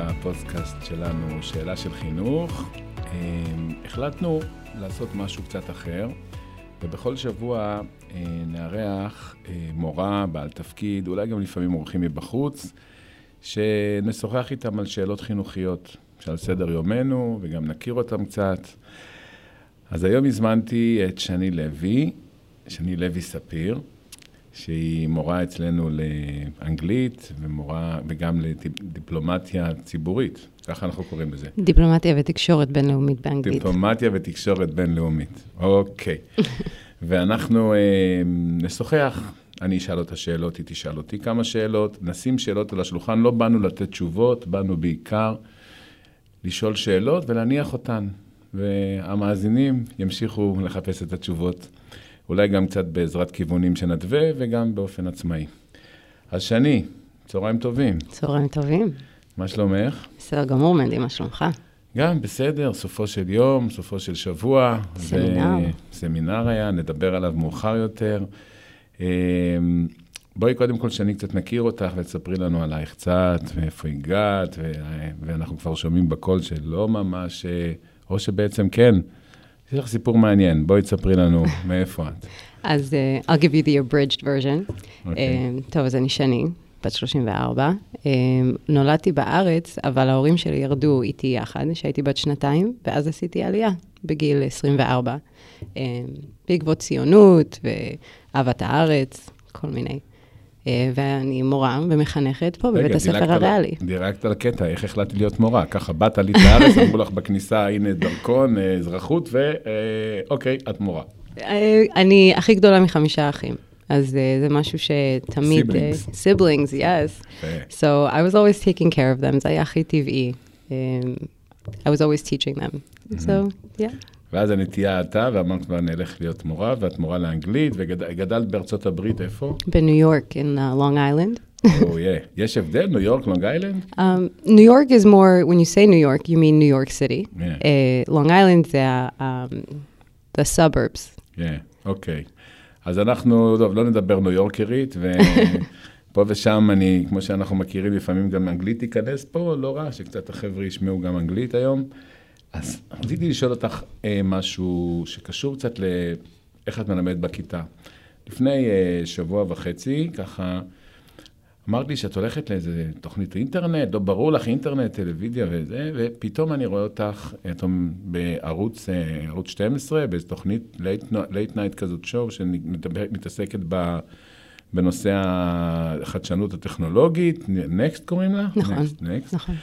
לפודקאסט שלנו, שאלה של חינוך. החלטנו לעשות משהו קצת אחר, ובכל שבוע נארח מורה, בעל תפקיד, אולי גם לפעמים אורחים מבחוץ, שנשוחח איתם על שאלות חינוכיות שעל סדר יומנו, וגם נכיר אותם קצת. אז היום הזמנתי את שני לוי ספיר, שהיא מורה אצלנו לאנגלית, וגם לדיפלומטיה ציבורית. ככה אנחנו קוראים לזה. דיפלומטיה ותקשורת בינלאומית באנגלית. דיפלומטיה ותקשורת בינלאומית. אוקיי. ואנחנו נשוחח. אני אשאל אותה שאלות, היא תשאל אותי כמה שאלות. נשים שאלות על השולחן. לא באנו לתת תשובות, באנו בעיקר לשאול שאלות ולהניח אותן. והמאזינים ימשיכו לחפש את התשובות. אולי גם קצת בעזרת כיוונים שנדווה, וגם באופן עצמאי. אז שני, צהריים טובים. צהריים טובים. מה שלומך? בסדר גמור, מנדי, מה שלומך? גם בסדר, סופו של יום, סופו של שבוע. סמינר. סמינר היה, נדבר עליו מאוחר יותר. בואי קודם כל שני קצת נכיר אותך, ותספרי לנו עלייך קצת, ואיפה הגעת, ואנחנו כבר שומעים בקול שלא ממש, או שבעצם כן. יש לך סיפור מעניין, בואי תספרי לנו מאיפה את. אז I'll give you the abridged version. טוב, אז אני שני, בת 34. נולדתי בארץ, אבל ההורים שלי ירדו איתי יחד, שהייתי בת 2, ואז עשיתי עלייה בגיל 24. בעקבות ציונות ואהבת הארץ, כל מיני. ואני מורה ומחנכת פה בבית הספר הריאלי. דירקת על קטע, איך החלטתי להיות מורה? ככה, באת עלית לארץ, אמרו לך בכניסה, הנה דרכון, אזרחות, ואוקיי, את מורה. אני הכי גדולה מ5 אחים, אז זה משהו שתמיד... siblings, yes. So I was always taking care of them, זה היה הכי טבעי. I was always teaching them. So, yeah. ואז הנטייה אתה, ואמרת כבר נלך להיות מורה, ואת מורה לאנגלית, וגדלת בארצות הברית, איפה? בניו יורק, in Long Island. יש הבדל, ניו יורק, לונג איילנד? New York is more, when you say New York, you mean New York City. Long Island זה the suburbs. אוקיי. אז אנחנו, טוב, לא נדבר ניו יורקרית, ופה ושם אני, כמו שאנחנו מכירים, לפעמים גם אנגלית תיכנס פה, לא רע, שקצת החבר'ה ישמעו גם אנגלית היום. אז רציתי לשאול אותך משהו שקשור קצת לאיך את מלמדת בכיתה. לפני שבוע וחצי, ככה, אמרת לי שאת הולכת לאיזה תוכנית אינטרנט, לא ברור לך אינטרנט, טלוויזיה וזה, ופתאום אני רואה אותך בערוץ 12, באיזו תוכנית late night כזאת שואו, שמתעסקת בנושא החדשנות הטכנולוגית, Next קוראים לה? נכון, Next. נכון.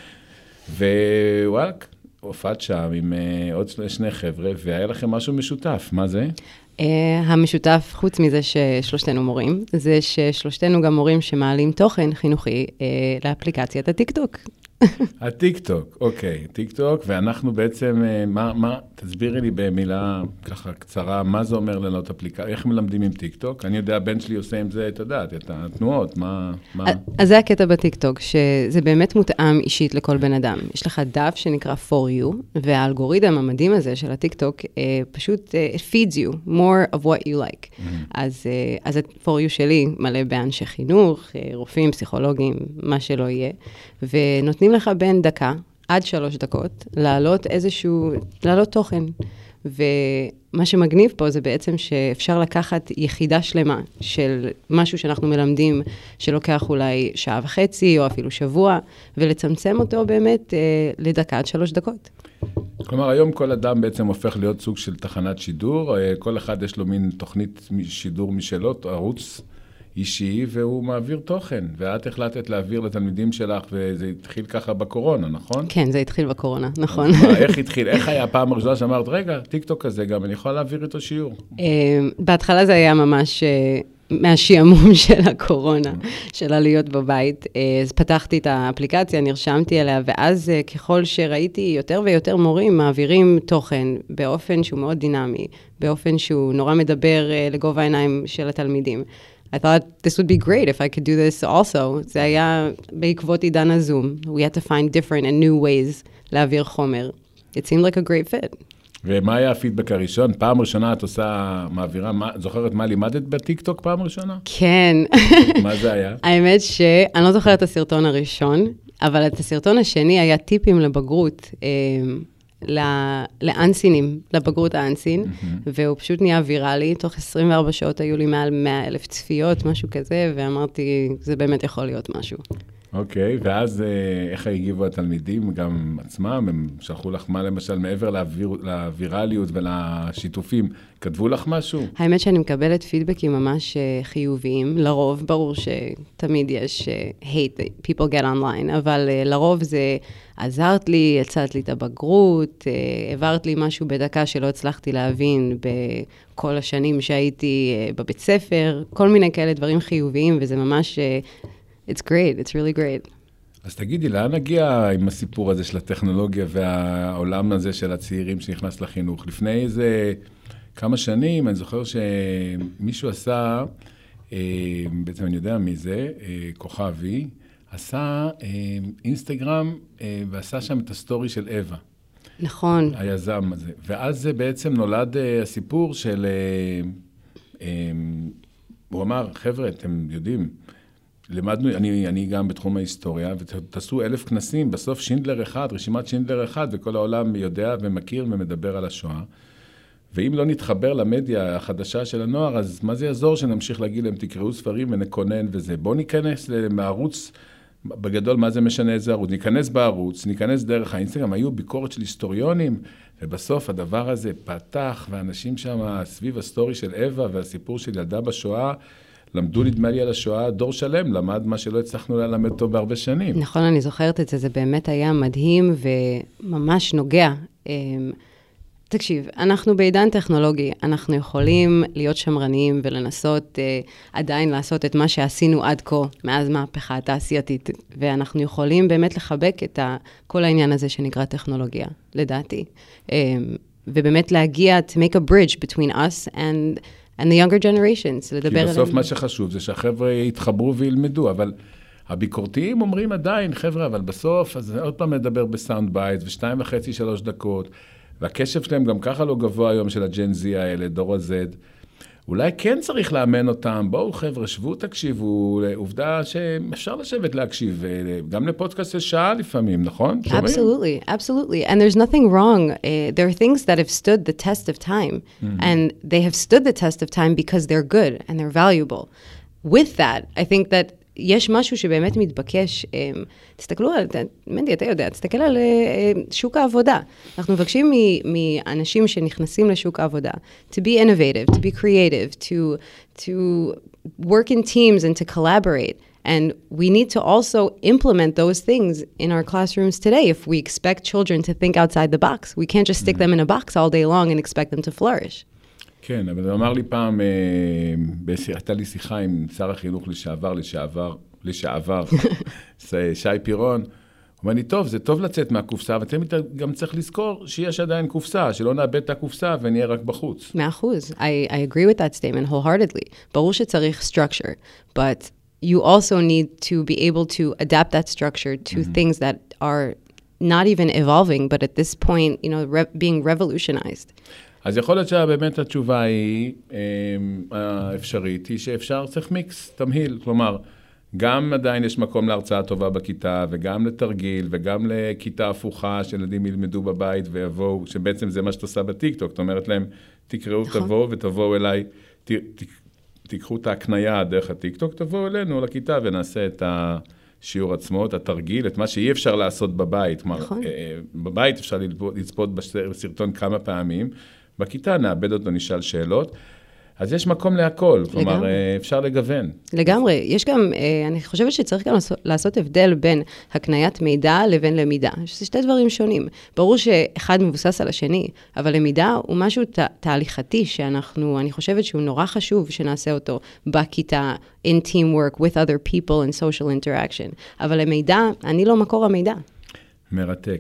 ווואלק, הופעת שם עם עוד שני חבר'ה, והיה לכם משהו משותף. מה זה? המשותף, חוץ מזה ששלושתנו מורים, זה ששלושתנו גם מורים שמעלים תוכן חינוכי לאפליקציית הטיקטוק. הטיקטוק, אוקיי, טיקטוק, ואנחנו בעצם, תסבירי לי במילה ככה קצרה, מה זה אומר לנות אפליקציה, איך מלמדים עם טיקטוק? אני יודע, הבן שלי עושה עם זה, את יודעת, את התנועות, מה? אז זה הקטע בטיקטוק, שזה באמת מותאם אישית לכל בן אדם. יש לך דף שנקרא For You, והאלגוריתם המדהים הזה של הטיקטוק, פשוט it feeds you more of what you like. אז For You שלי מלא באנשי חינוך, רופאים, פסיכולוגים, מה שלא יהיה, ונותנים לך בין דקה עד 3 דקות להעלות תוכן. ומה שמגניב פה זה בעצם שאפשר לקחת יחידה שלמה של משהו שאנחנו מלמדים שלוקח אולי 1.5 שעות או אפילו שבוע, ולצמצם אותו באמת לדקה עד 3 דקות. כלומר, היום כל אדם בעצם הופך להיות סוג של תחנת שידור, כל אחד יש לו מין תוכנית שידור משלו, ערוץ אישי, והוא מעביר תוכן, ואת החלטת להעביר לתלמידים שלך, וזה התחיל ככה בקורונה, נכון? כן, זה התחיל בקורונה, נכון. איך התחיל? איך היה הפעם הראשונה שאמרת, רגע, טיקטוק הזה גם, אני יכולה להעביר איתו שיעור? בהתחלה זה היה ממש מהשיעמום של הקורונה, של להיות בבית. אז פתחתי את האפליקציה, נרשמתי אליה, ואז ככל שראיתי יותר ויותר מורים מעבירים תוכן באופן שהוא מאוד דינמי, באופן שהוא נורא מדבר לגובה העיניים של התלמידים. I thought this would be great if I could do this also. זה היה בעקבות עידן הזום. We had to find different and new ways להעביר חומר. It seemed like a great fit. ומה היה הפידבק הראשון? פעם ראשונה את עושה מעבירה, זוכרת מה לימדת בטיקטוק פעם ראשונה? כן. מה זה היה? האמת שאני לא זוכרת את הסרטון הראשון, אבל את הסרטון השני היה טיפים לבגרות, לאנסינים, לבגרות האנסין, והוא פשוט נהיה ויראלי, תוך 24 שעות היו לי מעל 100,000 צפיות, משהו כזה, ואמרתי, זה באמת יכול להיות משהו. אוקיי, ואז איך הגיבו התלמידים, גם עצמם, הם שלחו לך מה למשל, מעבר לווירליות ולשיתופים, כתבו לך משהו? האמת שאני מקבלת פידבקים ממש חיוביים, לרוב, ברור שתמיד יש hate that people get online, אבל לרוב זה עזרת לי, הצעת לי את הבגרות, העברת לי משהו בדקה שלא הצלחתי להבין בכל השנים שהייתי בבית ספר, כל מיני כאלה דברים חיוביים, וזה ממש... It's great, it's really great. אז תגידי, לאן נגיע עם הסיפור הזה של הטכנולוגיה והעולם הזה של הצעירים שנכנס לחינוך? לפני איזה כמה שנים, אני זוכר שמישהו עשה, בעצם אני יודע מי זה, כוכבי, עשה אינסטגרם ועשה שם את הסטורי של אווה. נכון. היזם הזה. ואז זה בעצם נולד הסיפור של, הוא אמר, חבר'ה, אתם יודעים, למדנו, אני גם בתחום ההיסטוריה, ותעשו 1,000 כנסים, בסוף שינדלר אחד, רשימת שינדלר אחד, וכל העולם יודע ומכיר ומדבר על השואה. ואם לא נתחבר למדיה החדשה של הנוער, אז מה זה יעזור שנמשיך להגיד להם, תקראו ספרים ונקונן וזה. בואו ניכנס מהערוץ, בגדול מה זה משנה איזה ערוץ, ניכנס בערוץ, ניכנס דרך האינסטגרם, היו ביקורת של היסטוריונים, ובסוף הדבר הזה פתח, ואנשים שם סביב הסטורי של אווה והסיפור של ילדה בשואה, למדו נדמה לי על השואה, דור שלם, למד מה שלא הצלחנו ללמד טוב בהרבה שנים. נכון, אני זוכרת את זה, זה באמת היה מדהים וממש נוגע. תקשיב, אנחנו בעידן טכנולוגי, אנחנו יכולים להיות שמרניים ולנסות עדיין לעשות את מה שעשינו עד כה, מאז מהפכה התעשייתית, ואנחנו יכולים באמת לחבק את כל העניין הזה שנקרא טכנולוגיה, לדעתי. ובאמת להגיע, to make a bridge between us and the younger generations, לדבר עליהם. כי בסוף מה שחשוב זה שהחבר'ה יתחברו וילמדו, אבל הביקורתיים אומרים עדיין, חבר'ה, אבל בסוף, אז עוד פעם מדבר בסאונד בייט, 2.5-3 דקות, והקשב שלהם גם ככה לא גבוה היום של הג'ן זי האלה, דור ה-Z. אולי כן צריך לאמן אותם, בואו חבר'ה, שבו, תקשיבו, עובדה שאפשר לשבת להקשיב, גם לפודקאסט של שעה לפעמים, נכון? Absolutely, absolutely. And there's nothing wrong. There are things that have stood the test of time, and they have stood the test of time because they're good and they're valuable. With that, I think that יש משהו שבאמת מתבקש, תסתכלו על, מנדי, אתה יודע, תסתכל על שוק העבודה. אנחנו מבקשים מאנשים שנכנסים לשוק העבודה, to be innovative, to be creative, to work in teams and to collaborate. And we need to also implement those things in our classrooms today if we expect children to think outside the box. We can't just stick them in a box all day long and expect them to flourish. כן, אבל הוא אמר לי פעם, הייתה לי שיחה עם שר החינוך לשעבר, שי פירון, הוא אומר לי, טוב, זה טוב לצאת מהקופסה, אבל תמיד גם צריך לזכור שיש עדיין קופסה, שלא נאבד את הקופסה ונהיה רק בחוץ. 100%. I agree with that statement wholeheartedly. ברור שצריך structure, but you also need to be able to adapt that structure to things that are not even evolving, but at this point, you know, being revolutionized. אז יכול להיות שבאמת התשובה היא, האפשרית, היא שאפשר, צריך מיקס, תמהיל, כלומר, גם עדיין יש מקום להרצאה טובה בכיתה, וגם לתרגיל, וגם לכיתה הפוכה, שילדים ילמדו בבית ויבואו, שבעצם זה מה שאת עושה בטיקטוק, זאת אומרת להם, תקראו, תבואו ותבואו אליי, תיקחו את ההקניה דרך הטיקטוק, תבואו אלינו לכיתה ונעשה את השיעור עצמו, את התרגיל, את מה שאי אפשר לעשות בבית. נכון. בבית אפשר לצפות בסרטון כמה פעמים, בכיתה נאבד אותו, נשאל שאלות, אז יש מקום להכל, כלומר, אפשר לגוון. לגמרי, יש גם, אני חושבת שצריך גם לעשות הבדל בין הקניית מידע לבין למידה, שזה שתי דברים שונים. ברור שאחד מבוסס על השני, אבל למידה הוא משהו תהליכתי אני חושבת שהוא נורא חשוב שנעשה אותו בכיתה, in teamwork with other people and social interaction. אבל למידע, אני לא מקור המידע. מרתק.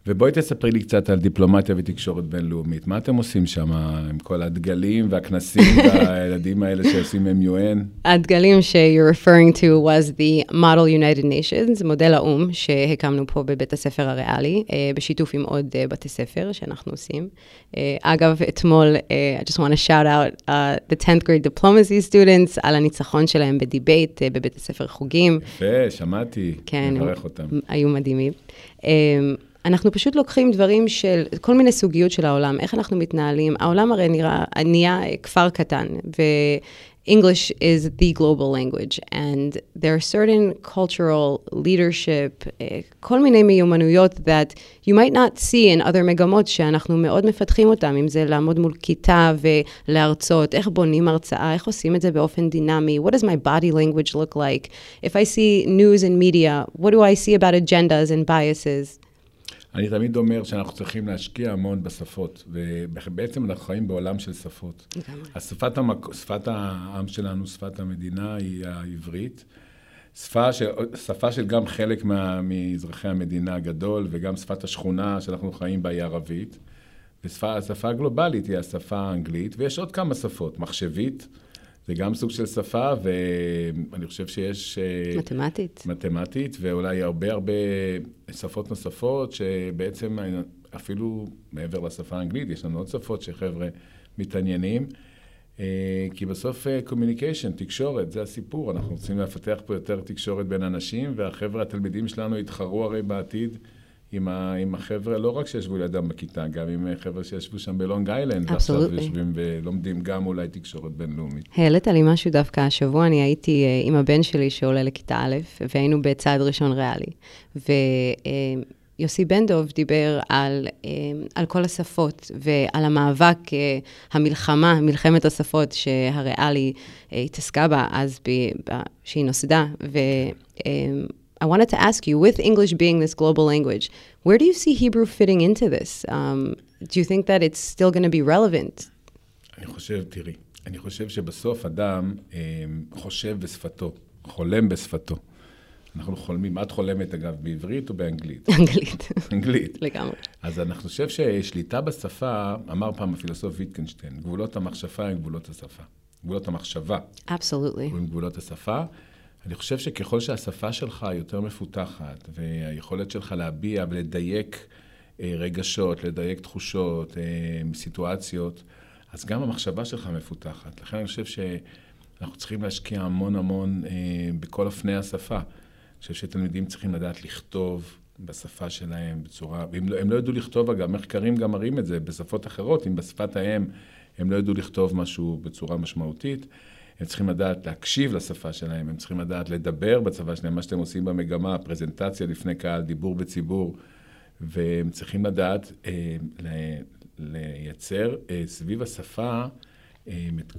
ובואי תספרי לי קצת על דיפלומטיה ותקשורת בינלאומית. מה אתם עושים שם עם כל הדגלים והכנסים והילדים האלה שעושים MUN? הדגלים ש-you're referring to was the Model United Nations, מודל האום שהקמנו פה בבית הספר הריאלי, בשיתוף עם עוד בתי ספר שאנחנו עושים. אגב, אתמול, I just want to shout out the 10th grade diplomacy students על הניצחון שלהם בדיבייט בבית הספר חוגים. יפה, שמעתי, מברך אותם. היו מדהימים. אנחנו פשוט לוקחים דברים של כל מיני סוגיות של העולם, איך אנחנו מתנהלים. העולם הרי נהיה כפר קטן, ו-English is the global language, and there are certain cultural leadership, כל מיני מיומנויות that you might not see in other מגמות, שאנחנו מאוד מפתחים אותם, אם זה לעמוד מול כיתה ולהרצות, איך בונים הרצאה, איך עושים את זה באופן דינמי, what does my body language look like? If I see news and media, what do I see about agendas and biases? אני תמיד אומר שאנחנו צריכים להשקיע המון בשפות, ובעצם אנחנו חיים בעולם של שפות. שפת העם שלנו, שפת המדינה, היא העברית. שפה של גם חלק מאזרחי המדינה הגדול, וגם שפת השכונה שאנחנו חיים בה היא ערבית. והשפה הגלובלית היא השפה האנגלית, ויש עוד כמה שפות, מחשבית, זה גם סוג של שפה, ואני חושב שיש... מתמטית, ואולי הרבה שפות נוספות, שבעצם אפילו מעבר לשפה האנגלית, יש לנו עוד שפות שחבר'ה מתעניינים, כי בסוף communication, תקשורת, זה הסיפור, אנחנו רוצים לפתח פה יותר תקשורת בין אנשים, והחבר'ה, התלמידים שלנו יתחרו הרי בעתיד, עם החבר'ה, לא רק שישבו לידם בכיתה, גם עם חבר'ה שישבו שם בלונג איילנד, ועכשיו יושבים ולומדים גם אולי תקשורת בינלאומית. העלית לי משהו דווקא השבוע, אני הייתי עם הבן שלי שעולה לכיתה א', והיינו בצעד ראשון ריאלי. ויוסי בן דוב דיבר על כל השפות, ועל המאבק, מלחמת השפות שהריאלי התעסקה בה אז שהיא נוסדה, I wanted to ask you, with English being this global language, where do you see Hebrew fitting into this? Do you think that it's still going to be relevant? אני חושב שבסוף אדם חושב בשפתו, חולם בשפתו. אנחנו חולמים, את חולמת אגב בעברית או באנגלית? אנגלית. לגמרי. אז אני חושב ששליטה בשפה, אמר פעם הפילוסוף ויטקנשטיין, גבולות המחשבה הם גבולות השפה. גבולות המחשבה. Absolutely. הם גבולות השפה. אני חושב שככל שהשפה שלך יותר מפותחת, והיכולת שלך להביע ולדייק רגשות, לדייק תחושות, סיטואציות, אז גם המחשבה שלך מפותחת. לכן אני חושב שאנחנו צריכים להשקיע המון בכל אופני השפה. אני חושב שתלמידים צריכים לדעת לכתוב בשפה שלהם בצורה, הם לא ידעו לכתוב, אגב, מחקרים גם מראים את זה בשפות אחרות, אם בשפת האם הם לא ידעו לכתוב משהו בצורה משמעותית, הם צריכים לדעת להקשיב לשפה שלהם, הם צריכים לדעת לדבר בצבא שלהם, מה שאתם עושים במגמה, פרזנטציה לפני קהל, דיבור בציבור, והם צריכים לדעת לייצר סביב השפה את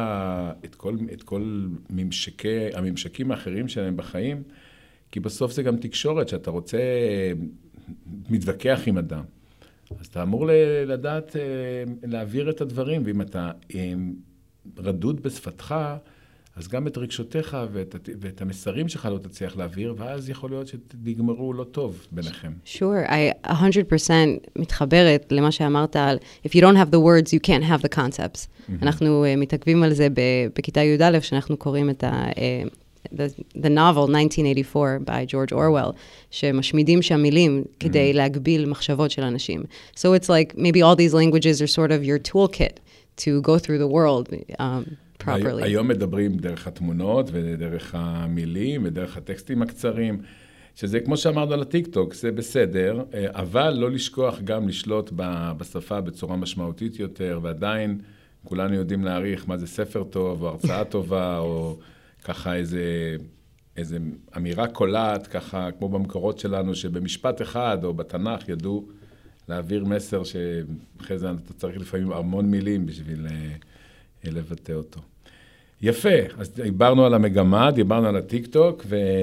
כל הממשקים האחרים שלהם בחיים, כי בסוף זה גם תקשורת, שאתה רוצה, מתווכח עם אדם. אז אתה אמור לדעת להעביר את הדברים, ואם אתה רדוד בשפתך, אז גם את רגשותיך ואת המסרים שלך לא תצליח להעביר, ואז יכול להיות שתגמרו לא טוב ביניכם. Sure, I 100% מתחברת למה שאמרת על if you don't have the words, you can't have the concepts. אנחנו מתעכבים על זה בכיתה י"א, שאנחנו קוראים את the novel 1984 by George Orwell, שמשמידים שם מילים כדי להגביל מחשבות של אנשים. So it's like maybe all these languages are sort of your toolkit to go through the world properly. היום מדברים דרך התמונות ודרך המילים ודרך הטקסטים הקצרים, שזה כמו שאמרנו על הטיק-טוק, זה בסדר, אבל לא לשכוח גם לשלוט בשפה בצורה משמעותית יותר, ועדיין כולנו יודעים להעריך מה זה ספר טוב או הרצאה טובה או ככה איזה אמירה קולעת, ככה כמו במקורות שלנו, שבמשפט אחד או בתנ"ך ידעו להעביר מסר שאחרי זה אתה צריך לפעמים המון מילים בשביל לבטא אותו. יפה, אז דיברנו על המגמה, דיברנו על הטיק-טוק,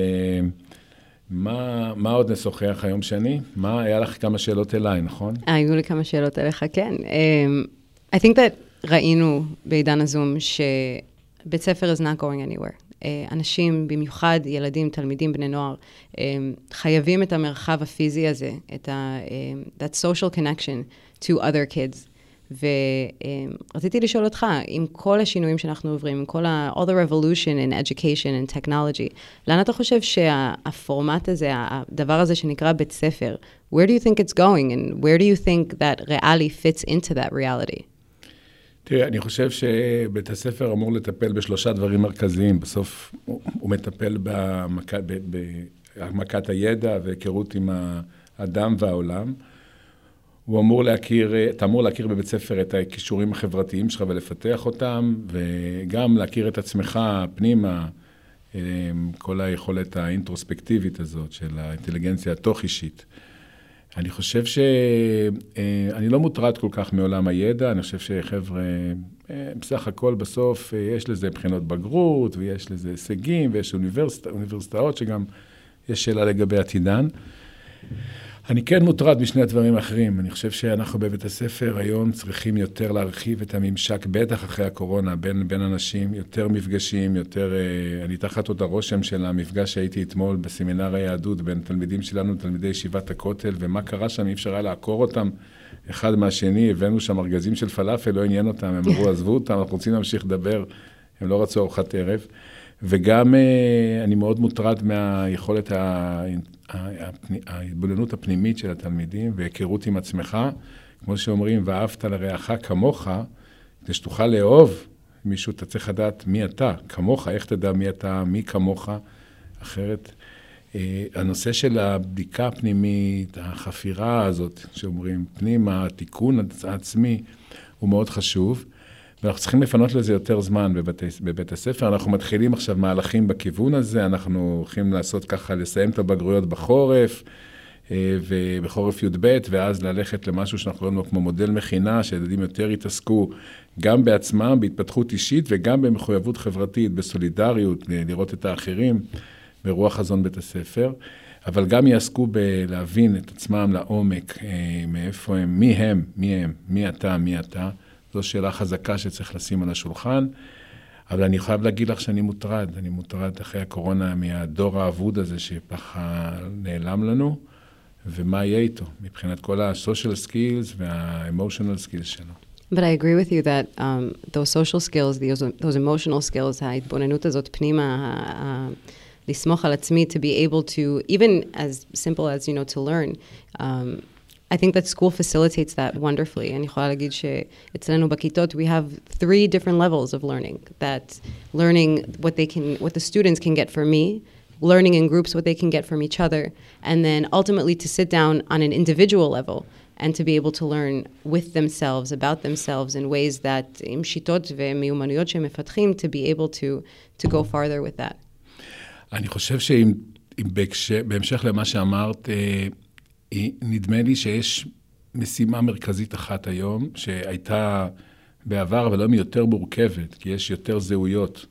ומה עוד נשוחח היום שני? היה לך כמה שאלות אליי, נכון? היו לי כמה שאלות אליך, כן. I think that ראינו בעידן הזום שבית ספר is not going anywhere. אנשים, במיוחד ילדים, תלמידים, בני נוער, חייבים את המרחב הפיזי הזה, את that social connection to other kids. ורציתי לשאול אותך, עם כל השינויים שאנחנו עוברים, עם כל all the revolution in education and technology, לאן אתה חושב שהפורמט הזה, הדבר הזה שנקרא בית ספר, where do you think it's going and where do you think that ריאלי fits into that reality? תראה, אני חושב שבית הספר אמור לטפל בשלושה דברים מרכזיים. בסוף הוא מטפל בהעמקת הידע והיכרות עם האדם והעולם. אתה אמור להכיר בבית ספר את הכישורים החברתיים שלך ולפתח אותם, וגם להכיר את עצמך פנימה, כל היכולת האינטרוספקטיבית הזאת של האינטליגנציה התוך-אישית. אני חושב שאני לא מוטרד כל כך מעולם הידע, אני חושב שחבר'ה, בסך הכל בסוף יש לזה בחינות בגרות, ויש לזה הישגים, ויש אוניברסיטאות שגם יש שאלה לגבי עתידן. אני כן מוטרד משני הדברים האחרים. אני חושב שאנחנו בבית הספר היום צריכים יותר להרחיב את הממשק, בטח אחרי הקורונה, בין אנשים, יותר מפגשים, יותר... אני תחת עוד הרושם של המפגש שהייתי אתמול בסמינר היהדות, בין תלמידים שלנו, תלמידי ישיבת הכותל, ומה קרה שם, אי אפשר היה לעקור אותם אחד מהשני, הבאנו שם ארגזים של פלאפל, לא עניין אותם, הם אמרו, עזבו אותם, אנחנו רוצים להמשיך לדבר, הם לא רצו ארוחת ערב. וגם אני מאוד מוטרד מהיכולת ההתבוננות הפנימית של התלמידים, והיכרות עם עצמך, כמו שאומרים, ואהבת לרעך כמוך, כדי שתוכל לאהוב מישהו, אתה צריך לדעת מי אתה, כמוך, איך תדע מי אתה, מי כמוך, אחרת. הנושא של הבדיקה הפנימית, החפירה הזאת, שאומרים, פנימה, התיקון העצמי, הוא מאוד חשוב, ואנחנו צריכים לפנות לזה יותר זמן בבית הספר. אנחנו מתחילים עכשיו מהלכים בכיוון הזה, אנחנו הולכים לעשות ככה, לסיים את הבגרויות בחורף, ובחורף י"ב, ואז ללכת למשהו שאנחנו רואים כמו מודל מכינה, שילדים יותר יתעסקו גם בעצמם, בהתפתחות אישית, וגם במחויבות חברתית, בסולידריות, לראות את האחרים, ברוח חזון בית הספר, אבל גם יעסקו בלהבין את עצמם לעומק, מאיפה הם, מי אתה, זו שאלה חזקה שצריך לשים על השולחן, אבל אני חייב להגיד לך שאני מוטרד אחרי הקורונה מהדור האבוד הזה שפחה נעלם לנו, ומה יהיה איתו, מבחינת כל ה-social skills וה-emotional skills שלו. But I agree with you that those social skills, those emotional skills, ההתבוננות הזאת פנימה, לסמוך על עצמי, to be able to, even as simple as, to learn, I think that school facilitates that wonderfully. אני יכולה להגיד שאצלנו בכיתות, we have 3 different levels of learning. That learning what the students can get from me, learning in groups what they can get from each other, and then ultimately to sit down on an individual level and to be able to learn with themselves, about themselves in ways that עם שיטות ומיומנויות שהם מפתחים, to be able to go farther with that. אני חושב בהמשך למה שאמרת, נדמה לי שיש משימה מרכזית אחת היום, שהייתה בעבר, אבל היום היא יותר מורכבת, כי יש יותר זהויות,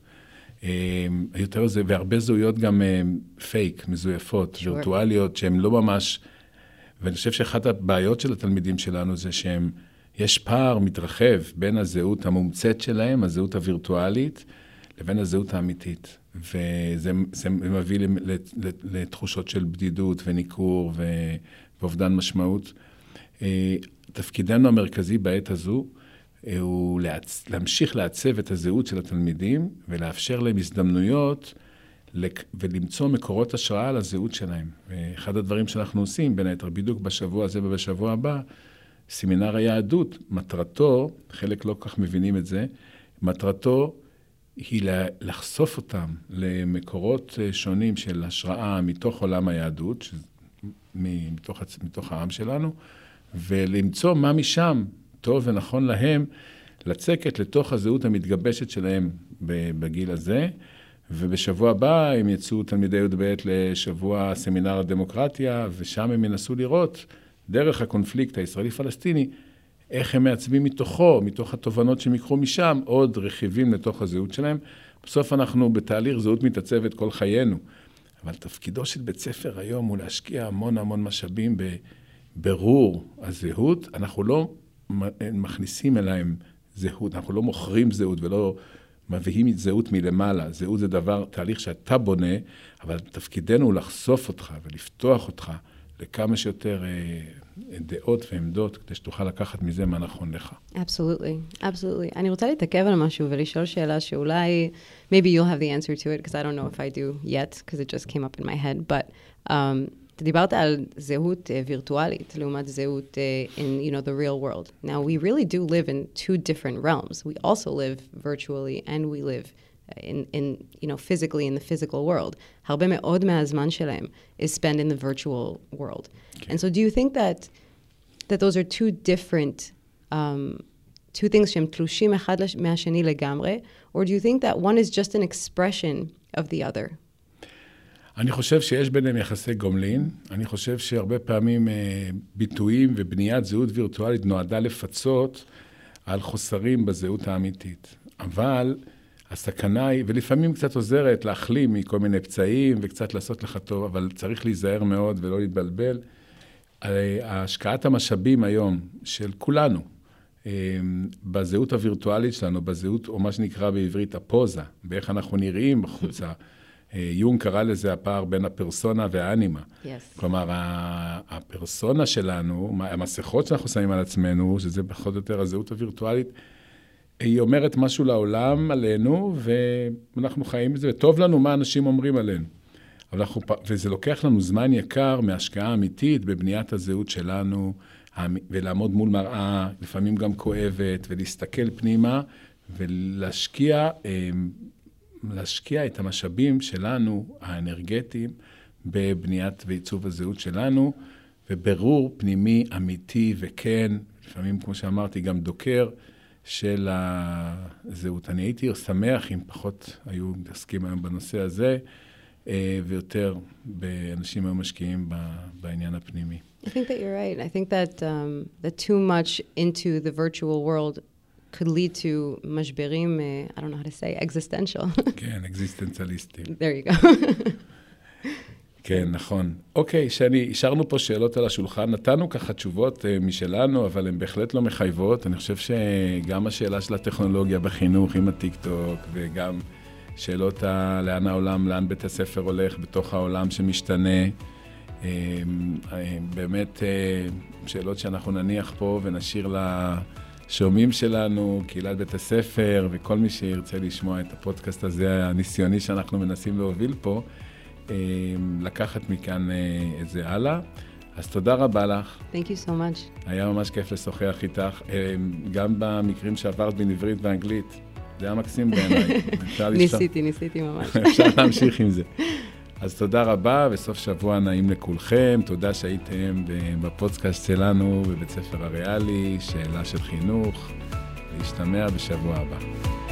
והרבה זהויות גם פייק, מזויפות, וירטואליות, שהן לא ממש, ואני חושב שאחת הבעיות של התלמידים שלנו זה יש פער מתרחב בין הזהות המומצאת שלהם, הזהות הווירטואלית, לבין הזהות האמיתית. וזה מביא לתחושות של בדידות וניכור ואובדן משמעות. תפקידנו המרכזי בעת הזו הוא להמשיך לעצב את הזהות של התלמידים ולאפשר להם הזדמנויות ולמצוא מקורות השראה על הזהות שלהם. ואחד הדברים שאנחנו עושים, בין היתר בדיוק בשבוע הזה ובשבוע הבא, סמינר היהדות, מטרתו, חלק לא כך מבינים את זה, מטרתו היא לחשוף אותם למקורות שונים של השראה מתוך עולם היהדות, מתוך העם שלנו, ולמצוא מה משם טוב ונכון להם, לצקת לתוך הזהות המתגבשת שלהם בגיל הזה, ובשבוע הבא הם יצאו תלמידי י"ב לשבוע סמינר הדמוקרטיה, ושם הם ינסו לראות דרך הקונפליקט הישראלי-פלסטיני, איך הם מעצבים מתוך התובנות שהם יקחו משם, עוד רכיבים לתוך הזהות שלהם. בסוף אנחנו בתהליך זהות מתעצבת כל חיינו. אבל תפקידו של בית ספר היום הוא להשקיע המון משאבים בבירור הזהות. אנחנו לא מכניסים אליהם זהות, אנחנו לא מוכרים זהות ולא מביאים זהות מלמעלה. זהות זה תהליך שאתה בונה, אבל תפקידנו הוא לחשוף אותך ולפתוח אותך לכמה שיותר דעות ועמדות, כדי שתוכל לקחת מזה מה נכון לך. Absolutely, absolutely. אני רוצה להתעכב על משהו ולשאול שאלה שאולי, maybe you'll have the answer to it, because I don't know if I do yet, because it just came up in my head, but אתה דיברת על זהות וירטואלית, לעומת זהות in, the real world. Now, we really do live in two different realms. We also live virtually, and we live physically in the physical world. הרבה מאוד מהזמן שלהם is spent in the virtual world. Okay. And so do you think that those are two different, two things שהם תלושים אחד מהשני לגמרי, or do you think that one is just an expression of the other? אני חושב שיש ביניהם יחסי גומלין. אני חושב שהרבה פעמים ביטויים ובניית זהות וירטואלית נועדה לפצות על חוסרים בזהות האמיתית. אבל הסכנה היא, ולפעמים קצת עוזרת להחלים מכל מיני פצעים וקצת לעשות לך טוב, אבל צריך להיזהר מאוד ולא להתבלבל. השקעת המשאבים היום של כולנו, בזהות הווירטואלית שלנו, בזהות, או מה שנקרא בעברית, הפוזה, באיך אנחנו נראים בחוצה. יונג קרא לזה הפער בין הפרסונה והאנימה. Yes. כלומר, הפרסונה שלנו, המסכות שאנחנו שמים על עצמנו, שזה בכל יותר הזהות הווירטואלית, היא אומרת משהו לעולם עלינו, ואנחנו חיים בזה, וטוב לנו מה אנשים אומרים עלינו. וזה לוקח לנו זמן יקר מהשקעה אמיתית בבניית הזהות שלנו, ולעמוד מול מראה, לפעמים גם כואבת, ולהסתכל פנימה, ולהשקיע את המשאבים שלנו, האנרגטיים, בבניית ועיצוב הזהות שלנו, וברור פנימי אמיתי וכן, לפעמים, כמו שאמרתי, גם דוקר, של הזהות. אני הייתי שמח אם פחות היו מתעסקים היום בנושא הזה, ויותר באנשים היו משקיעים בעניין הפנימי. I think that you're right. I think that that too much into the virtual world could lead to משברים, I don't know how to say, existential. כן, אקזיסטנציאליסטים. There you go. כן, נכון. אוקיי, שני, השארנו פה שאלות על השולחן, נתנו ככה תשובות משלנו, אבל הן בהחלט לא מחייבות. אני חושב שגם השאלה של הטכנולוגיה בחינוך עם הטיק-טוק, וגם שאלות לאן העולם, לאן בית הספר הולך בתוך העולם שמשתנה, באמת שאלות שאנחנו נניח פה ונשאיר לשומעים שלנו, קהילת בית הספר, וכל מי שירצה לשמוע את הפודקאסט הזה, הניסיוני שאנחנו מנסים להוביל פה, לקחת מכאן את זה הלאה. אז תודה רבה לך. Thank you so much. היה ממש כיף לשוחח איתך, גם במקרים שעברת בין עברית ואנגלית. זה היה מקסים בעיניי. ניסיתי ממש. אפשר להמשיך עם זה. אז תודה רבה, וסוף שבוע נעים לכולכם. תודה שהייתם בפודקאסט שלנו בבית ספר הריאלי, שאלה של חינוך. להשתמע בשבוע הבא.